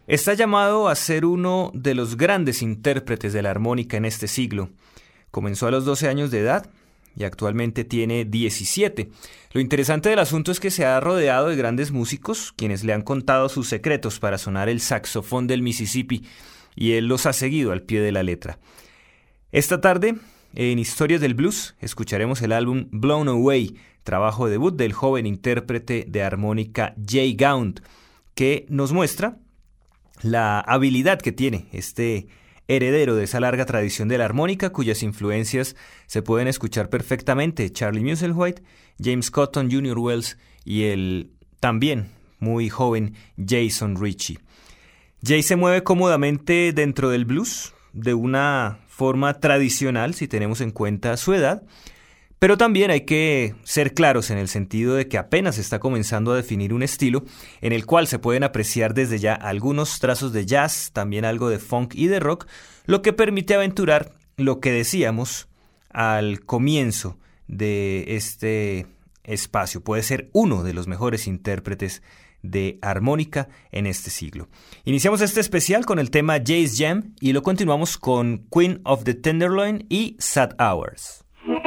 Está llamado a ser uno de los grandes intérpretes de la armónica en este siglo. Comenzó a los 12 años de edad y actualmente tiene 17. Lo interesante del asunto es que se ha rodeado de grandes músicos, quienes le han contado sus secretos para sonar el saxofón del Mississippi, y él los ha seguido al pie de la letra. Esta tarde, en Historias del Blues, escucharemos el álbum Blown Away, trabajo debut del joven intérprete de armónica Jay Gaunt, que nos muestra la habilidad que tiene este heredero de esa larga tradición de la armónica, cuyas influencias se pueden escuchar perfectamente: Charlie Musselwhite, James Cotton, Junior Wells y el también muy joven Jason Ritchie. Jay se mueve cómodamente dentro del blues, de una forma tradicional si tenemos en cuenta su edad, pero también hay que ser claros en el sentido de que apenas está comenzando a definir un estilo en el cual se pueden apreciar desde ya algunos trazos de jazz, también algo de funk y de rock, lo que permite aventurar lo que decíamos al comienzo de este espacio. Puede ser uno de los mejores intérpretes de armónica en este siglo. Iniciamos este especial con el tema Jay's Jam y lo continuamos con Queen of the Tenderloin y Sad Hours.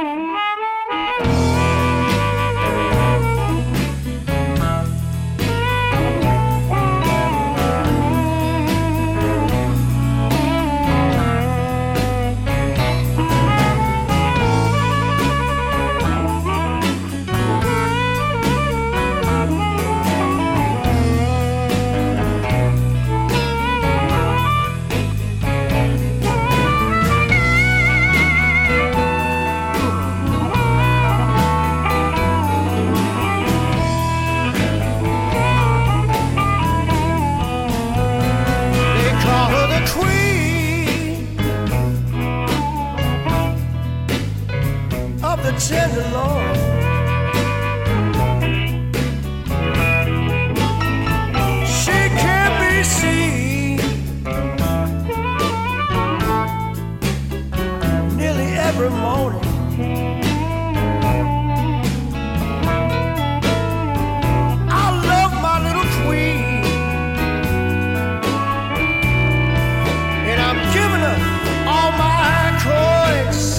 Tenderloin, she can't be seen nearly every morning. I love my little queen, and I'm giving her all my coins.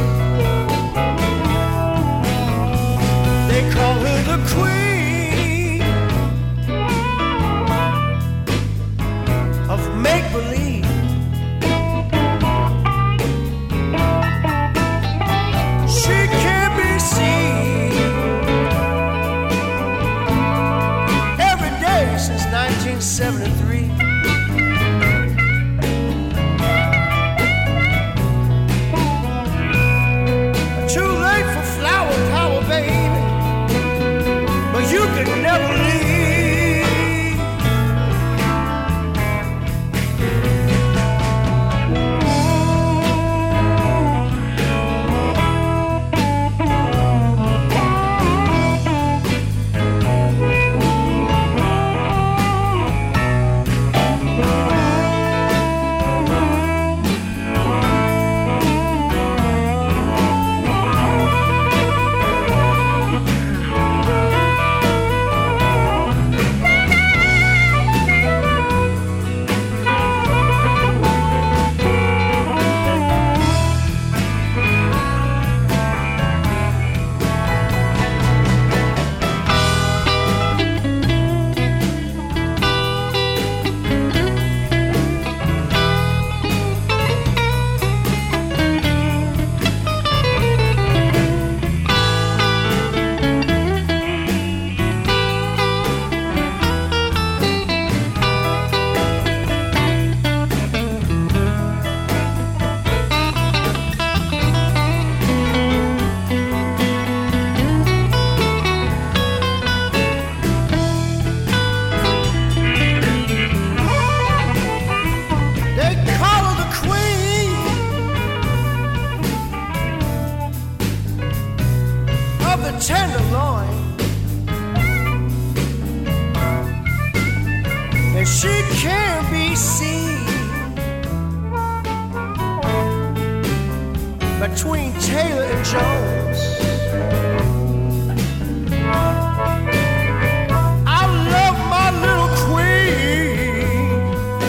They call her the queen of make-believe. She can't be seen every day since 1973. Too late for flower power, baby. You can never leave. Tenderloin, and she can't be seen between Taylor and Jones. I love my little queen.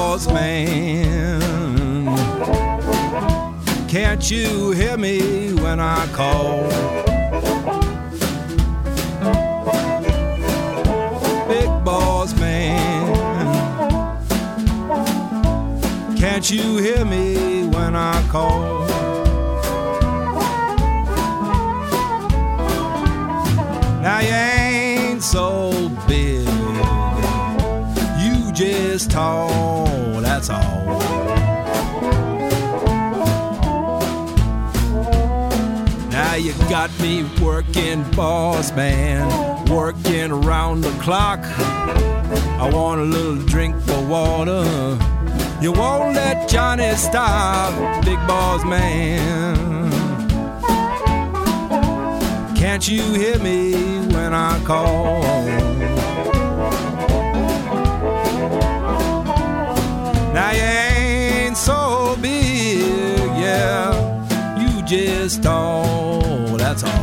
boss man. Can't you hear me when I call? Big boss man, can't you hear me when I call? Now you ain't so big, you just tall, that's all. Now you got me working, boss man, working around the clock. I want a little drink of water. You won't let Johnny stop, big boss man. Can't you hear me when I call? Now you ain't so big, yeah, you just tall, that's all.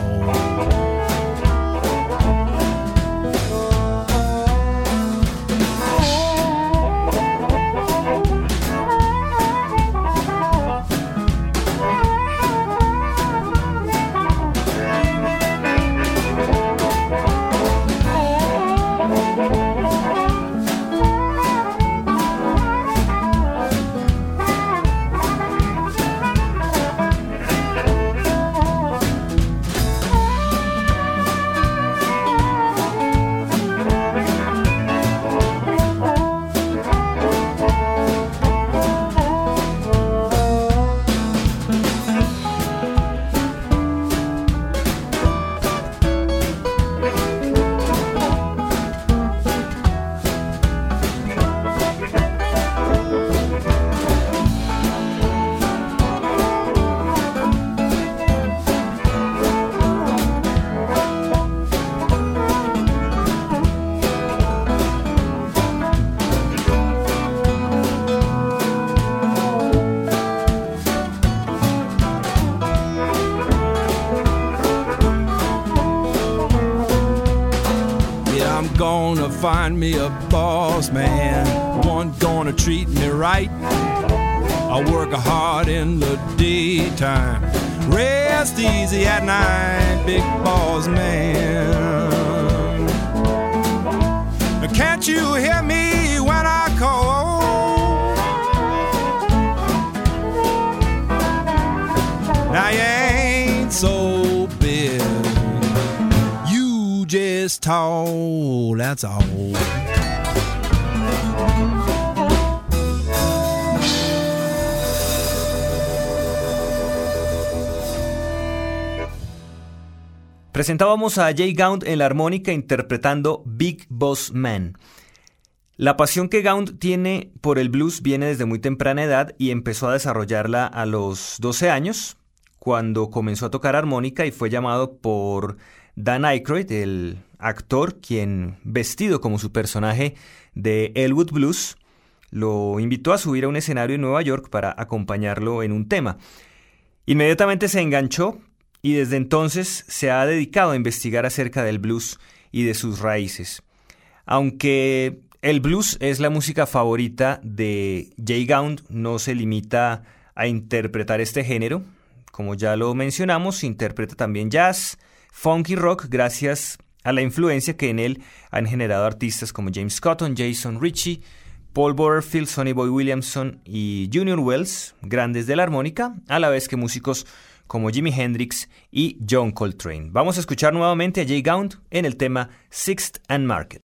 Find me a boss man, one gonna treat me right. I work hard in the daytime, rest easy at night, big boss man. Can't you hear me when I call? Now you ain't so big, you just tall, that's all. Presentábamos a Jay Gaunt en la armónica interpretando Big Boss Man. La pasión que Gaunt tiene por el blues viene desde muy temprana edad y empezó a desarrollarla a los 12 años, cuando comenzó a tocar armónica y fue llamado por Dan Aykroyd, el actor, quien, vestido como su personaje de Elwood Blues, lo invitó a subir a un escenario en Nueva York para acompañarlo en un tema. Inmediatamente se enganchó y desde entonces se ha dedicado a investigar acerca del blues y de sus raíces. Aunque el blues es la música favorita de Jay Gaunt, no se limita a interpretar este género. Como ya lo mencionamos, interpreta también jazz, funk y rock gracias a la influencia que en él han generado artistas como James Cotton, Jason Ritchie, Paul Butterfield, Sonny Boy Williamson y Junior Wells, grandes de la armónica, a la vez que músicos como Jimi Hendrix y John Coltrane. Vamos a escuchar nuevamente a Jay Gaunt en el tema Sixth and Market.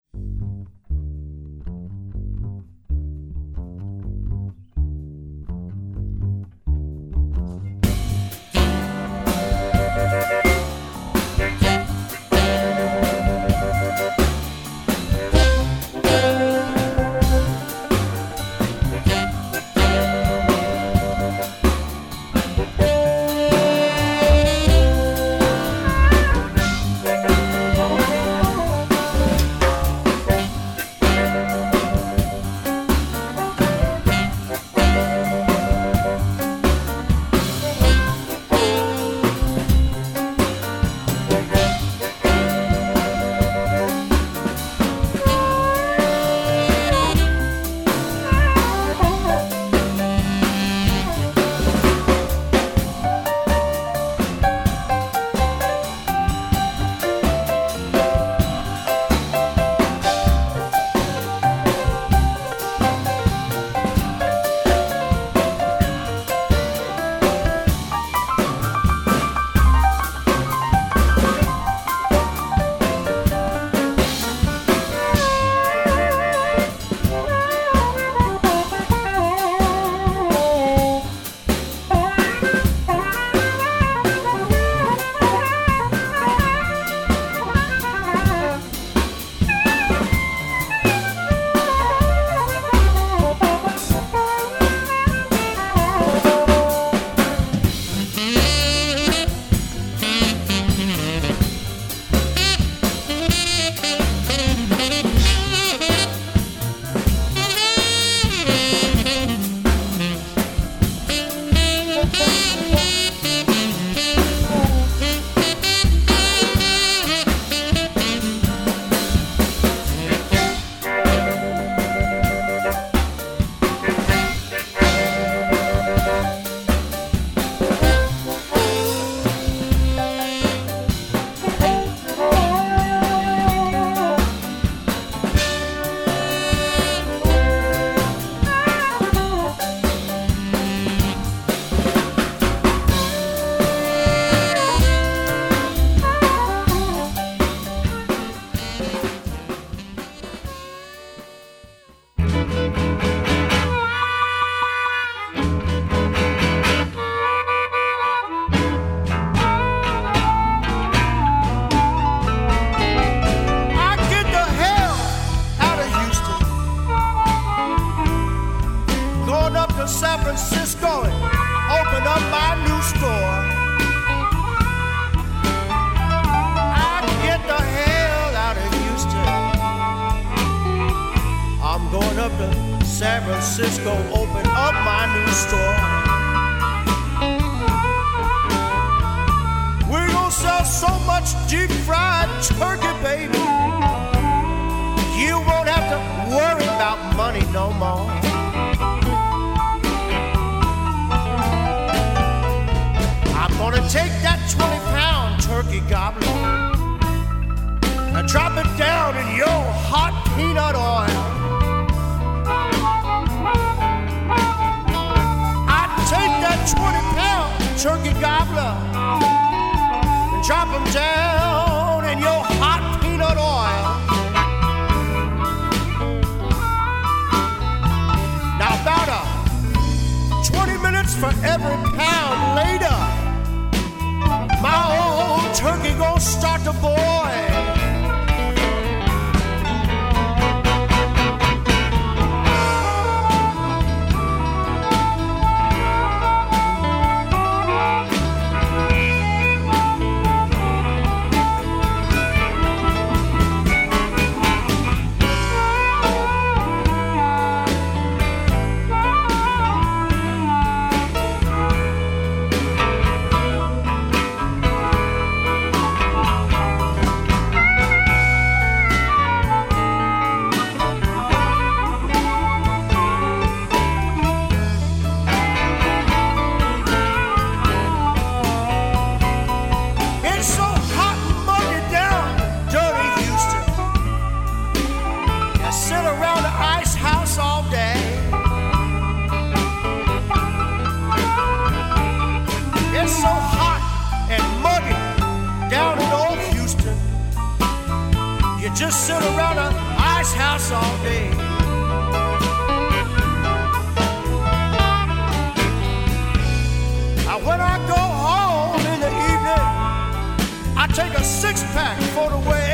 up to San Francisco, open up my new store. We're gonna sell so much deep fried turkey, baby, you won't have to worry about money no more. I'm gonna take that 20-pound turkey gobbler and drop it down in your hot peanut oil. I'd take that 20-pound turkey gobbler and drop him down in your hot peanut oil. Now about 20 minutes for every pound later, my old turkey gonna start to boil. Just sit around an ice house all day. Now when I go home in the evening, I take a six-pack for the way.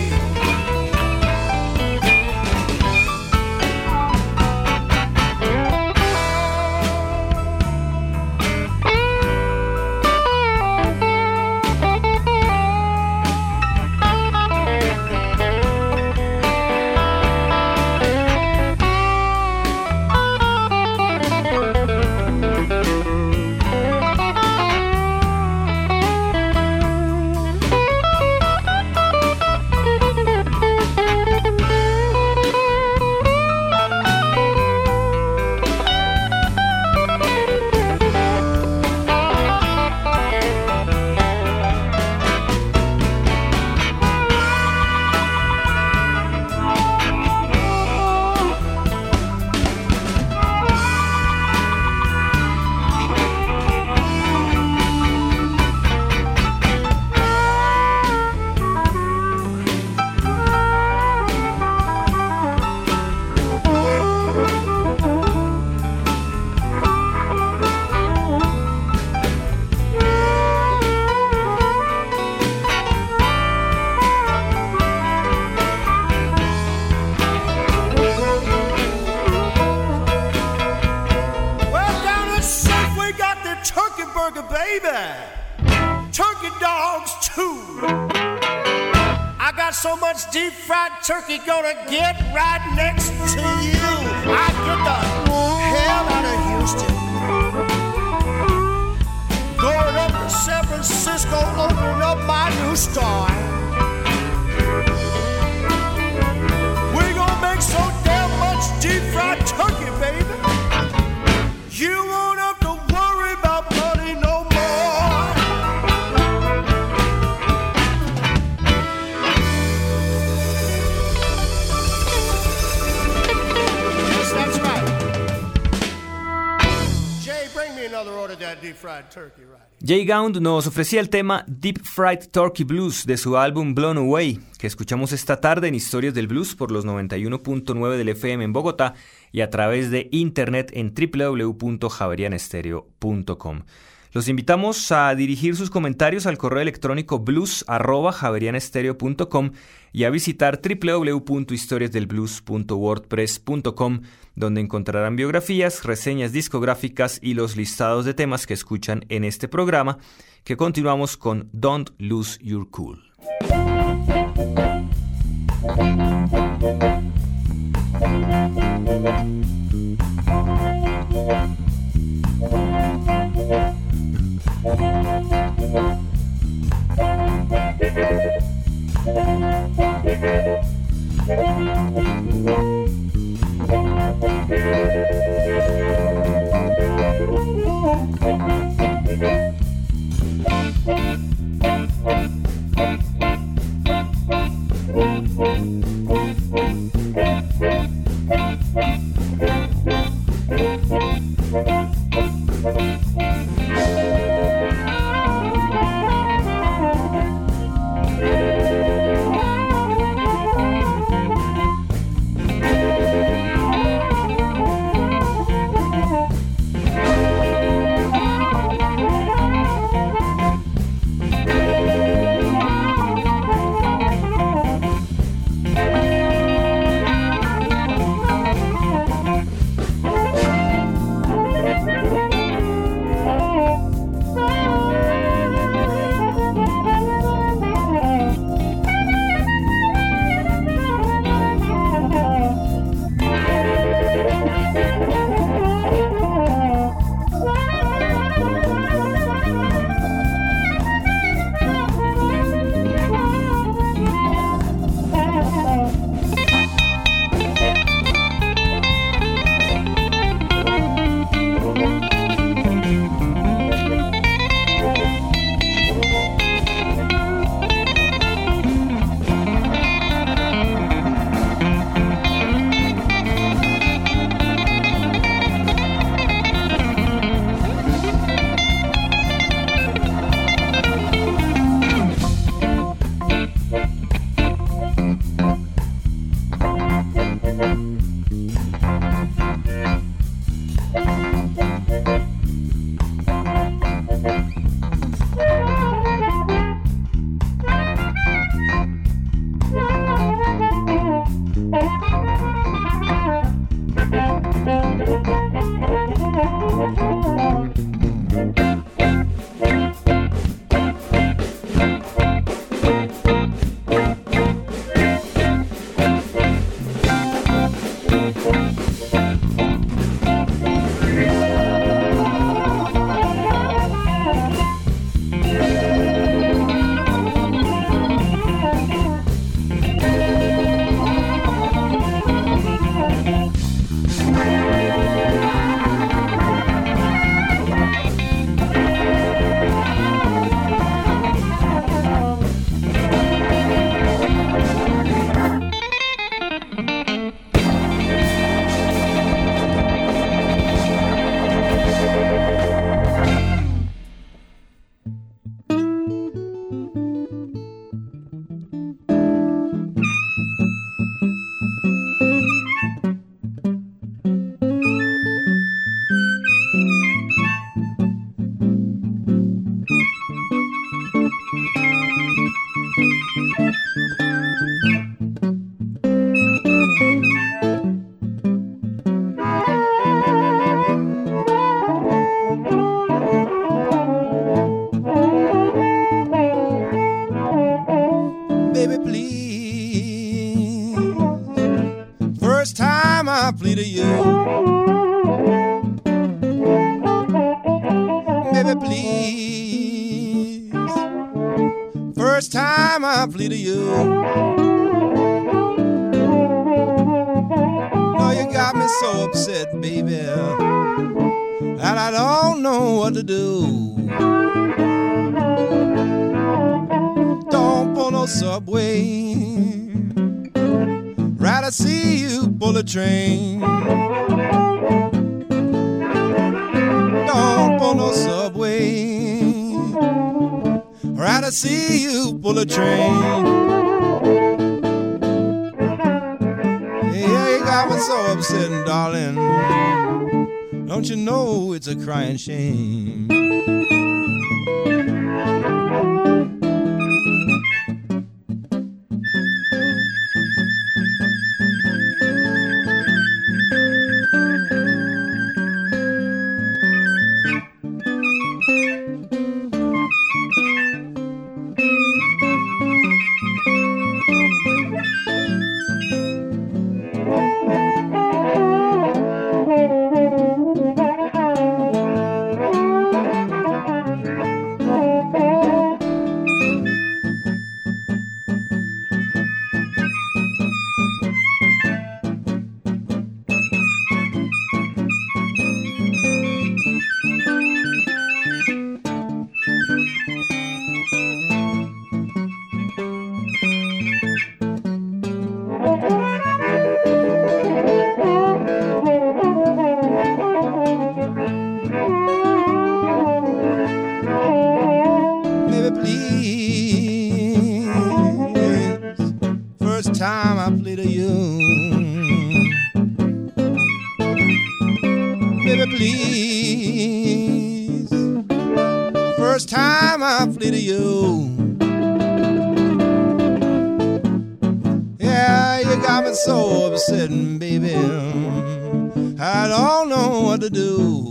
So much deep fried turkey gonna get right next to you. I get the hell out of Houston, going up to San Francisco, opening up my new store. We're gonna make so damn much deep fried turkey, baby, you won't have to worry about money no more. Jay Gound nos ofrecía el tema Deep Fried Turkey Blues de su álbum Blown Away, que escuchamos esta tarde en Historias del Blues por los 91.9 del FM en Bogotá y a través de internet en www.javerianestereo.com. Los invitamos a dirigir sus comentarios al correo electrónico blues@javerianestereo.com y a visitar www.historiasdelblues.wordpress.com, donde encontrarán biografías, reseñas discográficas y los listados de temas que escuchan en este programa, que continuamos con Don't Lose Your Cool. plea to you. Baby, please. First time I plead to you. No, you got me so upset, baby, that I don't know what to do. Don't pull no subway, rather see you pull a train. Don't pull no subway, rather see you pull a train. Yeah, you got me so upset, darling. Don't you know it's a crying shame? please. First time I flew to you. Yeah, you got me so upset, baby. I don't know what to do.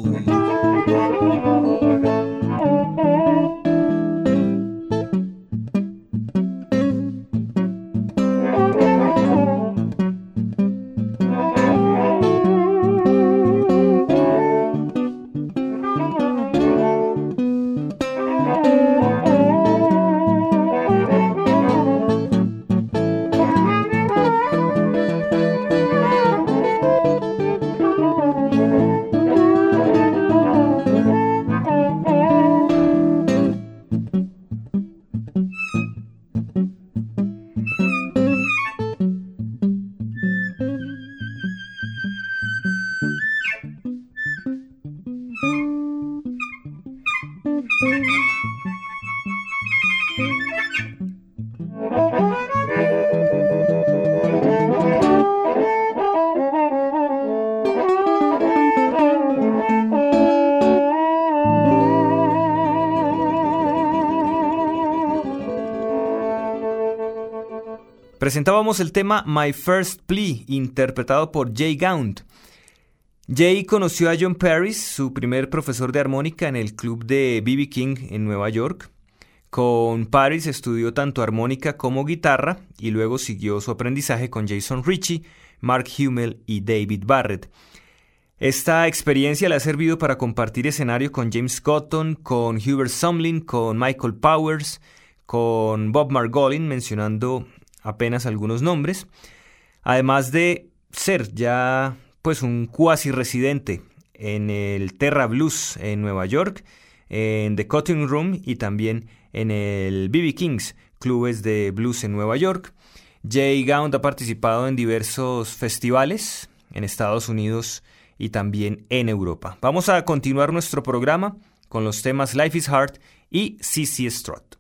Presentábamos el tema My First Plea, interpretado por Jay Gaunt. Jay conoció a John Paris, su primer profesor de armónica, en el club de B.B. King en Nueva York. Con Paris estudió tanto armónica como guitarra y luego siguió su aprendizaje con Jason Ritchie, Mark Hummel y David Barrett. Esta experiencia le ha servido para compartir escenario con James Cotton, con Hubert Sumlin, con Michael Powers, con Bob Margolin, mencionando apenas algunos nombres, además de ser ya pues un cuasi residente en el Terra Blues en Nueva York, en The Cutting Room y también en el B.B. King's, clubes de blues en Nueva York. Jay Gaunt ha participado en diversos festivales en Estados Unidos y también en Europa. Vamos a continuar nuestro programa con los temas Life is Hard y CC Strut.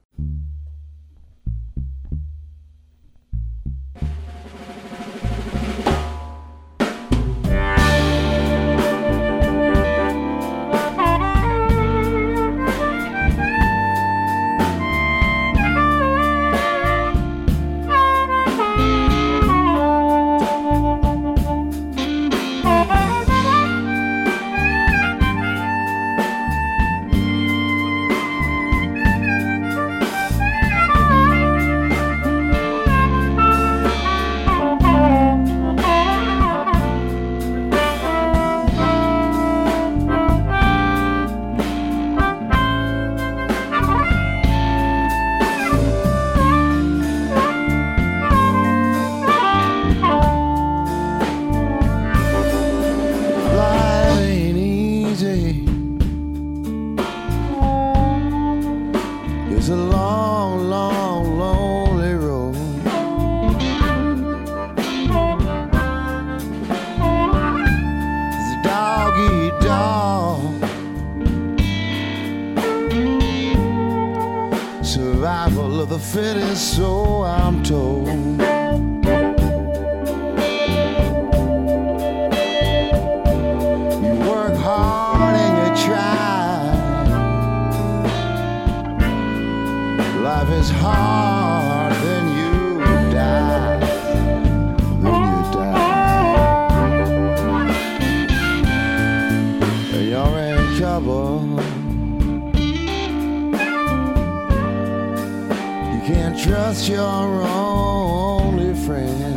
Trust your only friend.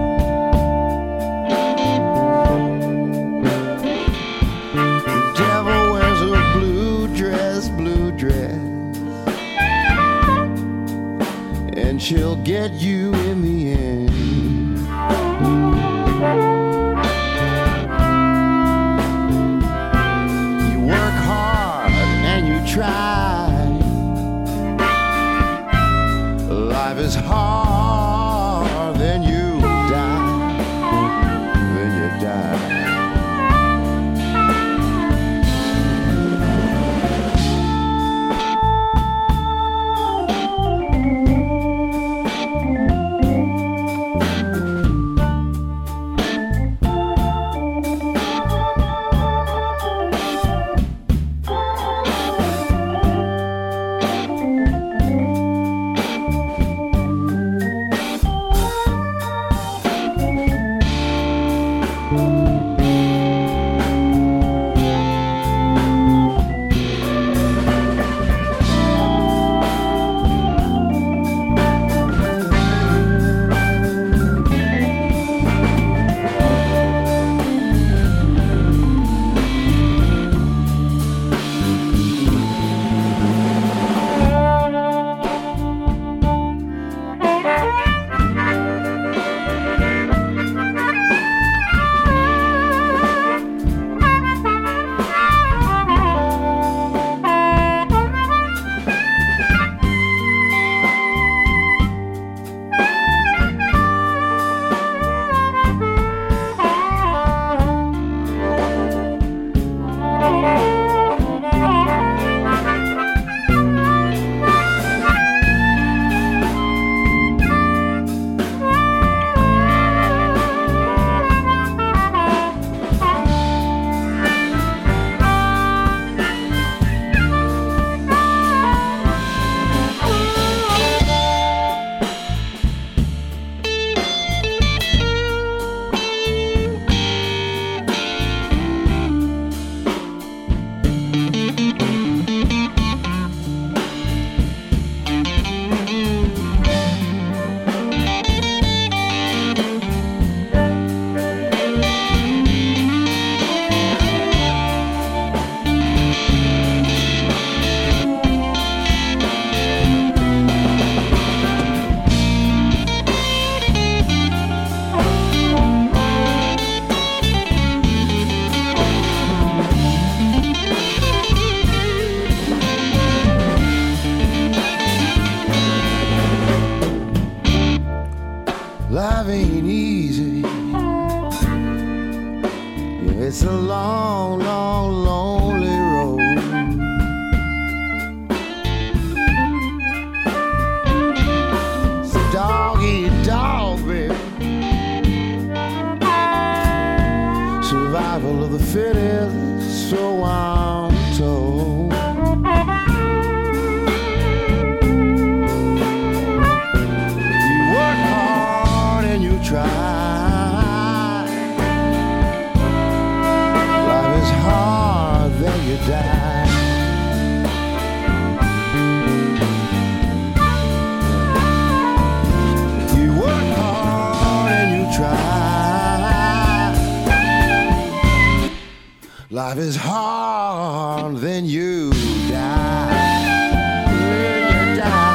The devil wears a blue dress, and she'll get you in the end. You work hard and you try. Life is hard, then you Life ain't easy. It's a long, long, lonely road. It's a dog-eat-dog, baby. Survival of the fittest, so I'm told. You work hard and you try. Then you die. You work hard and you try. Life is hard, then you die. Then you die.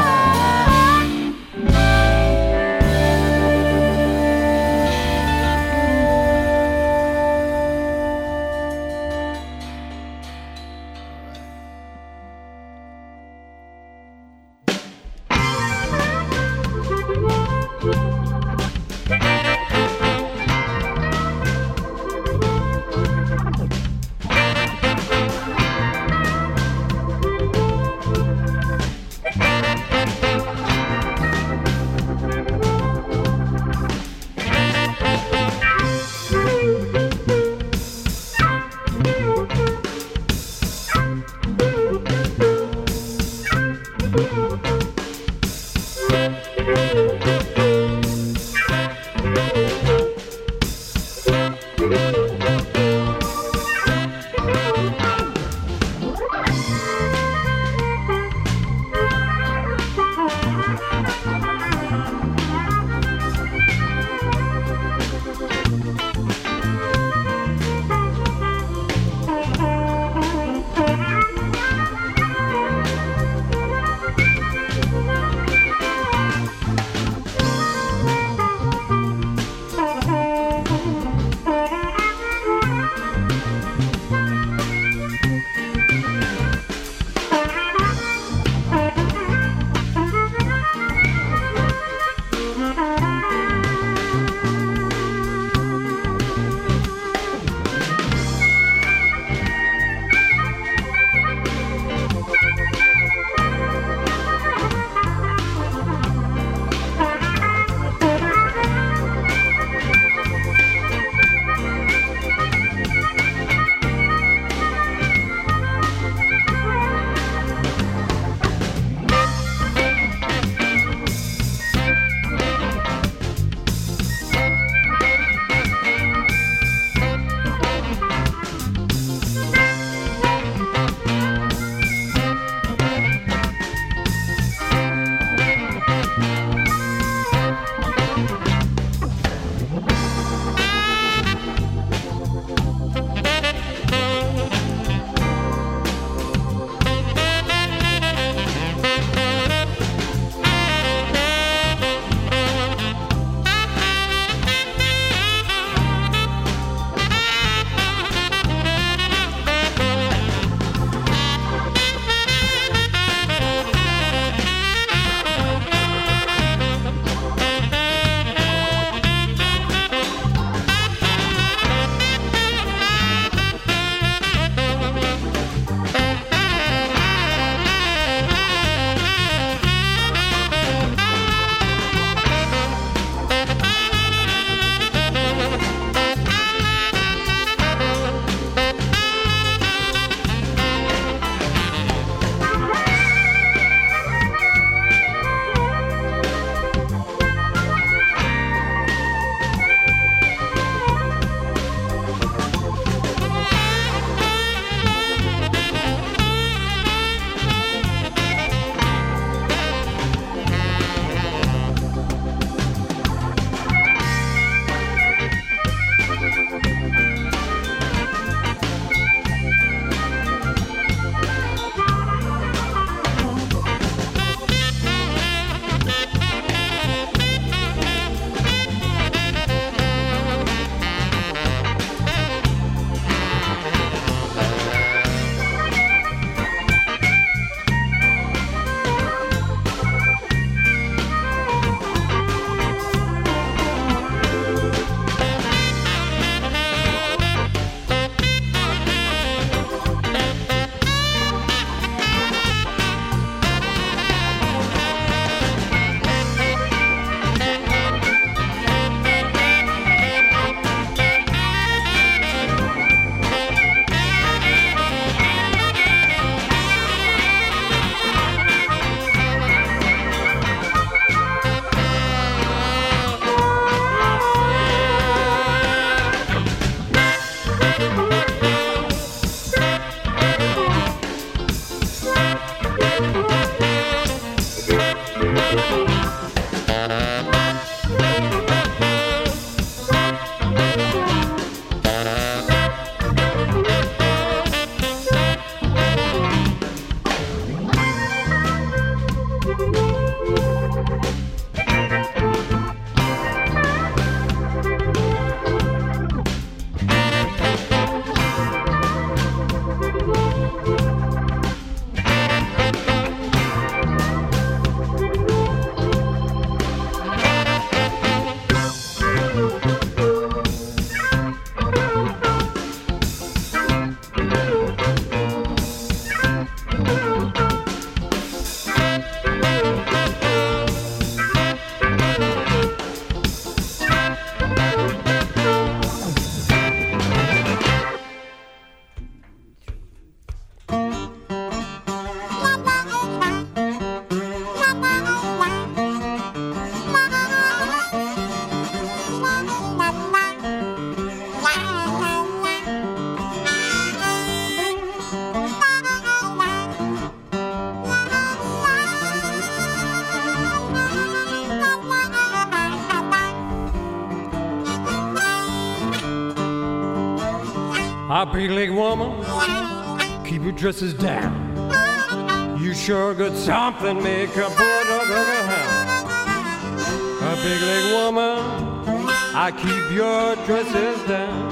A big leg woman, keep your dresses down. You sure got something, make a boy dog of a hound. A big leg woman, I keep your dresses down.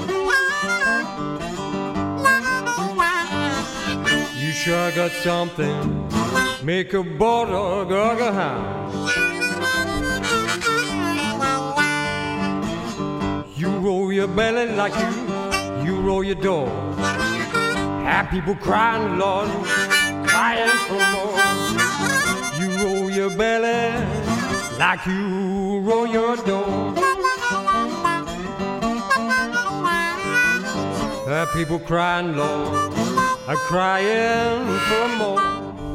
You sure got something, make a boy dog of a hound. You roll your belly like you roll your door. Have people crying, Lord, crying for more. You roll your belly like you roll your door. Have people crying, Lord, are crying for more.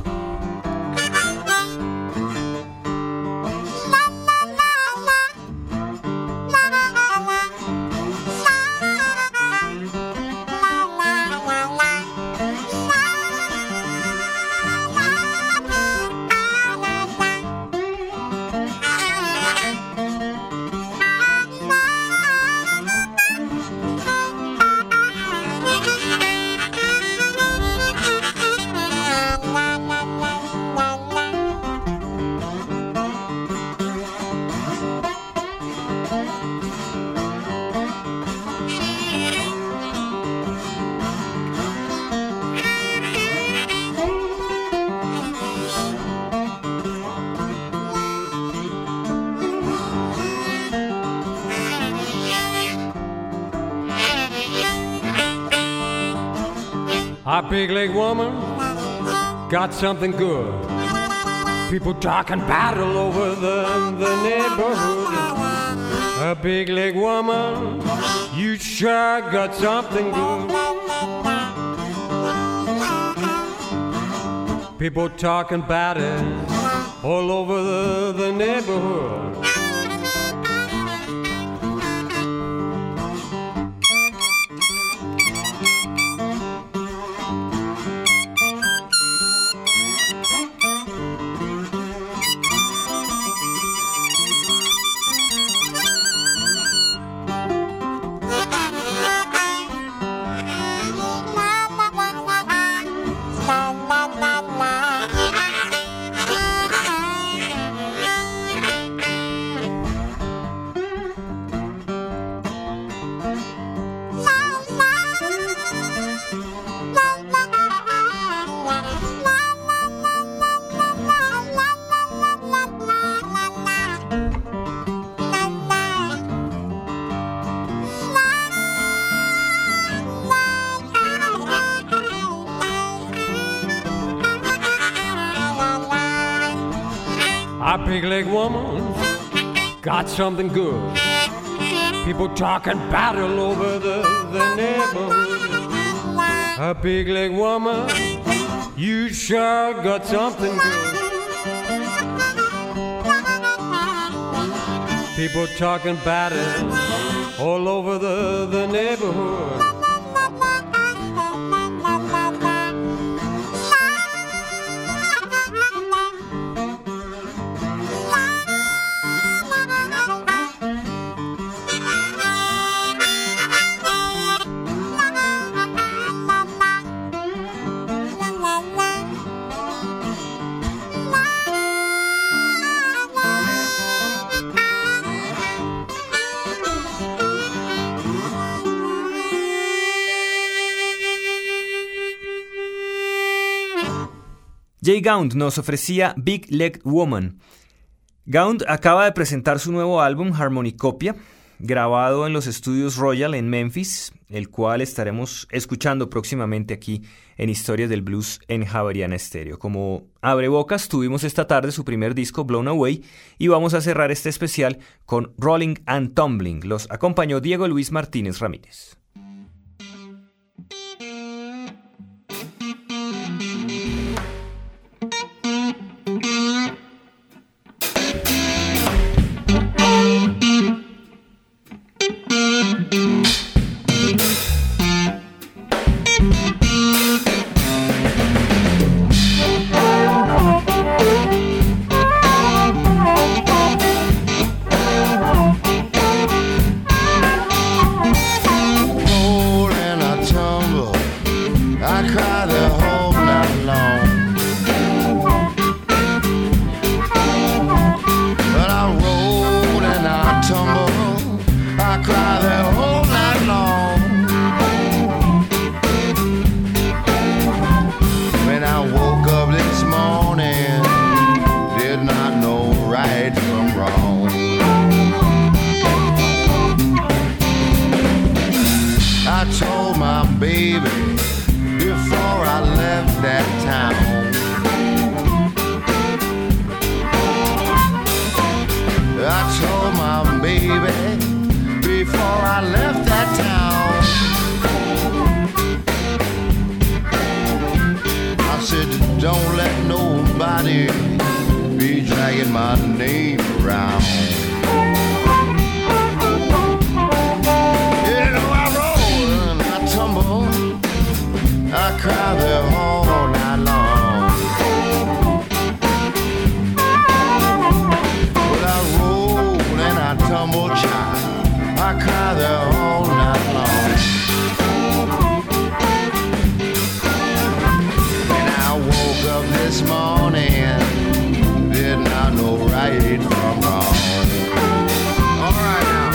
A big leg woman got something good. People talking battle over the neighborhood. A big leg woman, you sure got something good. People talking battle all over the neighborhood. A big leg woman got something good. People talking battle over the neighborhood. A big leg woman, you sure got something good. People talking battle all over the neighborhood. Jay Gaunt nos ofrecía Big Leg Woman. Gaunt acaba de presentar su nuevo álbum Harmonicopia, grabado en los estudios Royal en Memphis, el cual estaremos escuchando próximamente aquí en Historias del Blues en Javeriana Estéreo. Como abrebocas tuvimos esta tarde su primer disco Blown Away y vamos a cerrar este especial con Rolling and Tumbling. Los acompañó Diego Luis Martínez Ramírez. be dragging my name around. You know I roll and I tumble, I cry there all night long. Well, I roll and I tumble, child, I cry there all night long. And I woke up this morning, did not know right from wrong. All right now.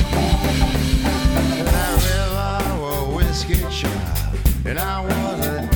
And I was a